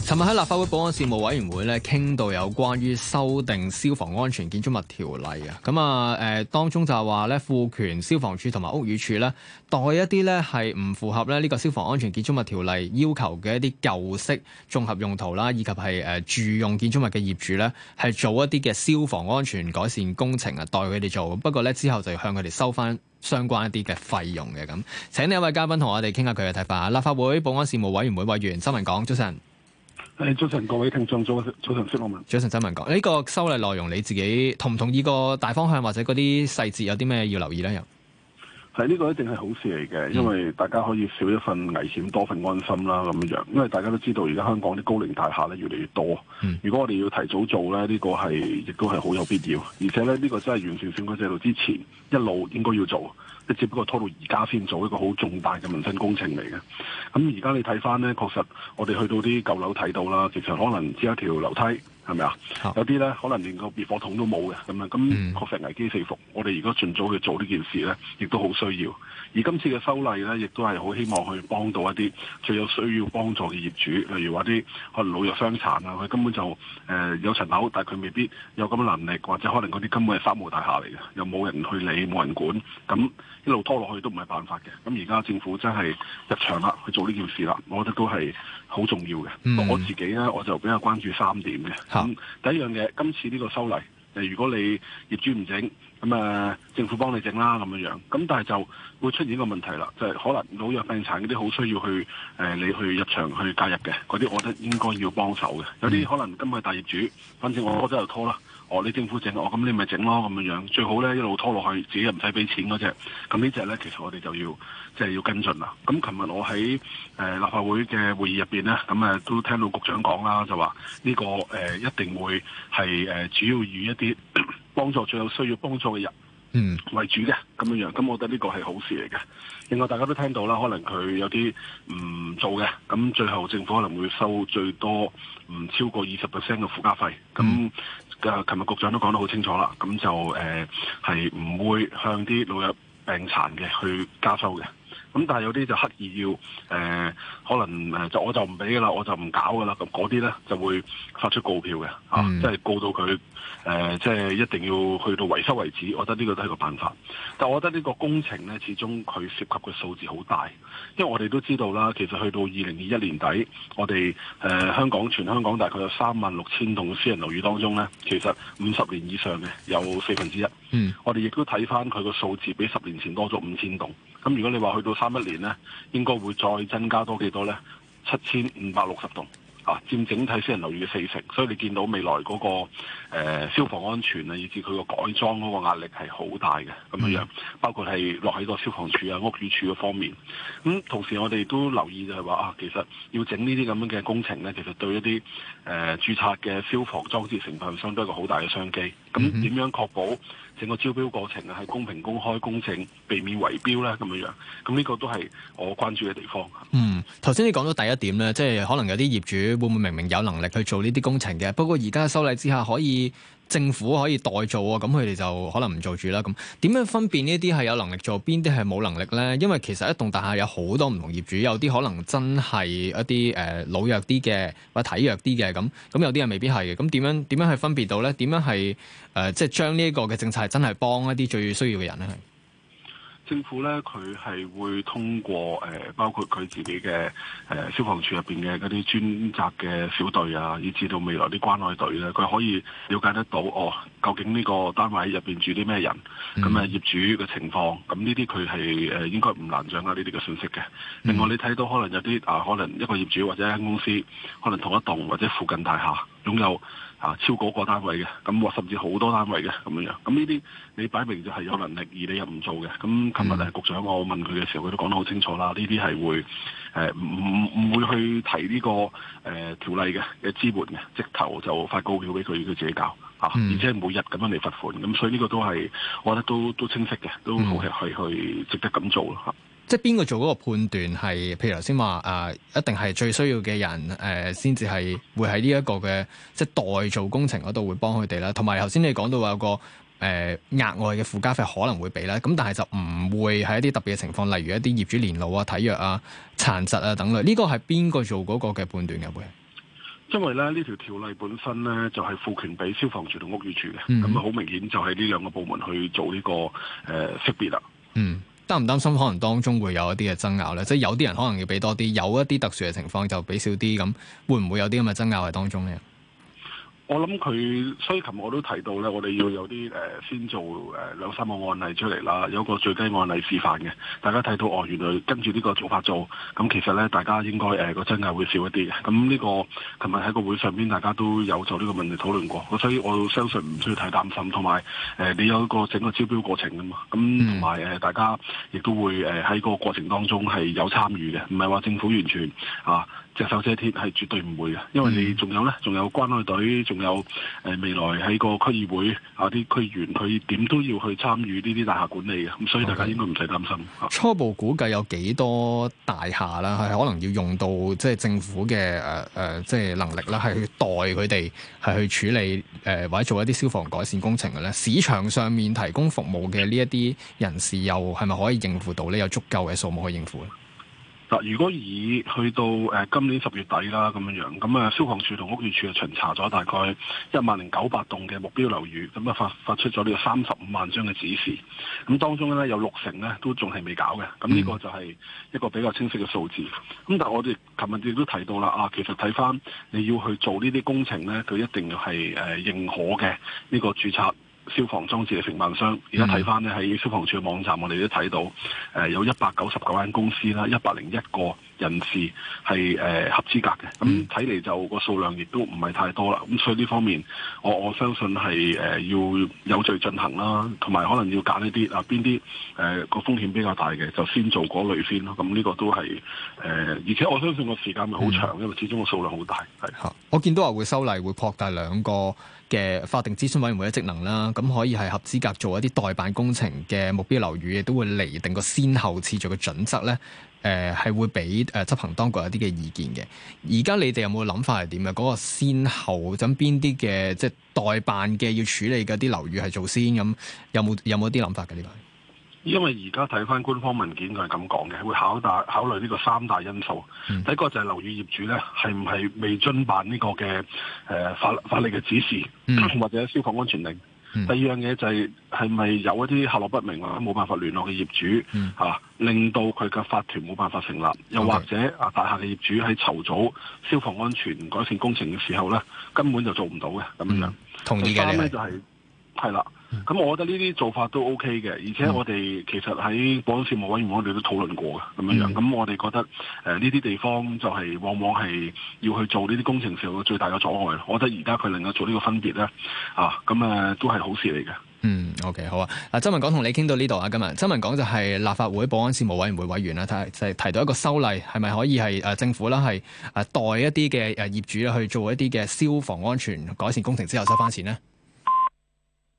尋日喺立法會保安事務委員會咧，傾到有關於修訂消防安全建築物條例啊，當中就係話咧，賦權消防處同埋屋宇署咧，代一啲咧係唔符合咧呢個消防安全建築物條例要求嘅一啲舊式綜合用途啦，以及係住用建築物嘅業主咧，係做一啲嘅消防安全改善工程啊，代佢哋做。不過咧之後就要向佢哋收翻相關一啲嘅費用嘅咁。請呢一位嘉賓同我哋傾下佢嘅睇法。立法會保安事務委員會委員周文港，早晨。 早晨，各位聽眾，早晨，施樂文。 早晨，周文港，呢個修例內容你自己同唔同意個大方向，或者嗰啲細節有啲咩要留意咧？又係呢個一定係好事嚟嘅，因為大家可以少一份危險，多份安心啦咁樣。因為大家都知道，而家香港啲高齡大廈咧越嚟越多。如果我哋要提早做咧，呢個係亦都係好有必要。而且咧，呢個真係完善選舉制度之前一路應該要做，即只不過拖到而家先做一個好重大嘅民生工程嚟嘅。咁而家你睇翻咧，確實我哋去到啲舊樓睇到啦，其實可能只有一條樓梯。係咪啊？有啲咧可能連個滅火筒都冇嘅咁樣，咁確實危機四伏。我哋如果盡早去做呢件事咧，亦都好需要。而今次嘅修例咧，亦都係好希望去幫到一啲最有需要幫助嘅業主，例如話啲可能老弱傷殘啊，佢根本就有層樓，但係佢未必有咁嘅能力，或者可能嗰啲根本係三無大廈嚟嘅，又冇人去理，冇人管，咁一路拖落去都唔係辦法嘅。咁而家政府真係入場啦，去做呢件事啦，我覺得都係好重要嘅。我自己咧，我就比較關注3點嘅。第一樣嘢，今次呢個修例，如果你業主唔整，咁政府幫你整啦咁樣。咁但係就會出現一個問題啦，就係可能老弱病殘嗰啲好需要去你去入場去介入嘅嗰啲，我覺得應該要幫手嘅。有啲可能今日係大業主，反正我真係拖啦。你政府整，咁你咪整咯咁樣。最好咧一路拖落去，自己又唔使俾錢嗰隻。咁呢隻咧，其實我哋就要要跟進啦。咁琴日我喺立法會嘅會議入邊咧，咁都聽到局長講啦，就話呢個一定會係主要以一啲幫助最有需要幫助嘅人為主嘅咁樣。咁我覺得呢個係好事嚟嘅。另外大家都聽到啦，可能佢有啲唔做嘅，咁最後政府可能會收最多唔超過20% 嘅附加費。咁琴日局長都講得好清楚啦，咁就係唔會向啲老弱病殘嘅去加收嘅。咁但係有啲就刻意要可能我就唔俾噶啦，我就唔搞噶啦。咁嗰啲咧就會發出告票嘅，即係告到佢即係一定要去到維修為止。我覺得呢個都係個辦法。但我覺得呢個工程咧，始終佢涉及嘅數字好大，因為我哋都知道啦，其實去到2021年底，我哋全香港大概有36,000棟私人樓宇當中咧，其實50年以上嘅有1/4。我哋亦都睇翻佢個數字，比10年前多咗5000棟。咁如果你話去到31年呢，應該會再增加多幾多呢？7560棟佔整體私人樓宇嘅40%。所以你見到未來嗰個消防安全啊，以至佢個改裝嗰個壓力係好大嘅咁樣，包括係落喺個消防處啊、屋宇署嘅方面。咁同時我哋都留意就係話其實要整呢啲咁樣嘅工程呢，其實對一啲註冊嘅消防裝置承辦商都係一個好大嘅商機。咁點樣確保整個招標過程係公平、公開、公正，避免圍標咧咁樣？咁呢個都係我關注嘅地方。 頭先你講到第一點咧，即係可能有啲業主會唔會明明有能力去做呢啲工程嘅，不過而家修例之下政府可以代做喎，咁佢哋就可能唔做住啦。咁點樣分辨呢啲係有能力做，邊啲係冇能力咧？因為其實一棟大廈有好多唔同業主，有啲可能真係一啲老弱啲嘅或者體弱啲嘅，咁有啲人未必係嘅。咁點樣去分別到咧？點樣係即係將呢一個嘅政策係真係幫一啲最需要嘅人咧？ 政府咧，佢係會通過包括佢自己嘅消防處入邊嘅嗰啲專責嘅小隊啊，以至到未來啲關愛隊咧，佢可以了解得到究竟呢個單位入邊住啲咩人，咁業主嘅情況，咁呢啲佢係應該唔難掌握呢啲嘅信息嘅。另外你睇到可能有啲可能一個業主或者一間公司，可能同一棟或者附近大廈擁有超過個單位嘅，咁或甚至好多單位嘅咁樣。咁呢啲你擺明就係有能力，而你又唔做嘅。咁琴日局長我問佢嘅時候，佢都講得好清楚啦。呢啲係會唔會去提呢個條例嘅支援嘅，直頭就發告票俾佢自己搞而且係每日咁樣嚟罰款。咁所以呢個都係我覺得都清晰嘅，都好係去值得咁做咯。 即係邊個做嗰個判斷係？譬如頭先話一定係最需要嘅人先至係會喺呢一個嘅即係代做工程嗰度會幫佢哋啦。同埋頭先你講到有個額外嘅附加費可能會俾啦，咁但係就唔會喺一啲特別嘅情況，例如一啲業主年老啊、體弱啊、殘疾啊等類。呢個係邊個做嗰個嘅判斷嘅會？ 因為咧呢條條例本身咧就係賦權俾消防處同屋宇署嘅，咁啊好明顯就係呢兩個部門去做呢個識別啦。 擔唔擔心可能當中會有一啲嘅爭拗咧？即係有啲人可能要俾多啲，有一啲特殊嘅情況就俾少啲，咁會唔會有啲咁嘅爭拗喺當中咧？ 我諗佢，所以琴日我都提到咧，我哋要有啲先做兩三個案例出嚟啦，有個最低案例示範嘅，大家睇到哦，原來跟住呢個做法做，咁其實咧大家應該個爭拗會少一啲嘅。咁呢個琴日喺個會上邊，大家都有就呢個問題討論過，所以我相信唔需要太擔心。同埋你有一個整個招標過程㗎嘛，咁同埋大家亦都會喺個過程當中係有參與嘅，唔係話政府完全隻手遮天，係絕對唔會嘅，因為你仲有咧，仲有關愛隊，仲有未來喺個區議會啲區議員，佢點都要去參與呢啲大廈管理嘅，咁所以大家應該唔使擔心。 初步估計有幾多大廈啦，係可能要用到即係政府嘅即係能力啦，係去代佢哋係去處理或者做一啲消防改善工程嘅咧。市場上面提供服務嘅呢一啲人士，又係咪可以應付到呢？有足夠嘅數目去應付咧？ 嗱，如果以去到今年10月底啦咁樣，咁消防處同屋宇署巡查咗大概10900棟嘅目標樓宇，咁發出咗呢個35萬張嘅指示，咁當中咧有60%咧都仲係未搞嘅，咁呢個就係一個比較清晰嘅數字。咁但係我哋琴日亦都提到啦，其實睇翻你要去做呢啲工程咧，佢一定要係認可嘅呢個註冊消防裝置嘅承辦商。而家睇翻咧喺消防處嘅網站，我哋都睇到有199間公司啦，101個人士係合資格嘅。咁睇嚟就個數量亦都唔係太多啦。咁所以呢方面，我相信係要有序進行啦，同埋可能要揀一啲邊啲個風險比較大嘅，就先做嗰類先咯。咁呢個都係而且我相信個時間咪好長，因為始終個數量好大。係。 我見到話會修例，會擴大2個嘅法定諮詢委員會嘅職能啦，咁可以係合資格做一啲代辦工程嘅目標樓宇，亦都會釐定個先後次序嘅準則咧。係會俾執行當局有啲嘅意見嘅。而家你哋有冇諗法係點嘅？嗰個先後咁邊啲嘅即係代辦嘅要處理嘅啲樓宇係做先咁，有冇啲諗法嘅呢個？ 因為而家睇翻官方文件，佢係咁講嘅，會考慮呢個3大因素。第一個就係樓宇業主咧，係唔係未遵辦呢個嘅法例嘅指示，或者消防安全令。第二樣嘢就係咪有一啲下落不明或者冇辦法聯絡嘅業主令到佢嘅法團冇辦法成立，又或者大廈嘅業主喺籌組消防安全改善工程嘅時候咧，根本就做唔到嘅咁樣。 同意嘅。第三咧就係啦。咁我覺得呢啲做法都 OK 嘅，而且我哋其實喺保安事務委員會我哋都討論過嘅咁樣。咁我哋覺得呢啲地方就係往往係要去做呢啲工程時候最大嘅阻礙。我覺得而家佢能夠做呢個分別咧，都係好事嚟嘅。 OK 好啊。嗱，周文港同你傾到呢度啊，今日周文港就係立法會保安事務委員會委員啦，提到一個修例係咪可以係政府啦係代一啲嘅業主去做一啲嘅消防安全改善工程之後收翻錢呢？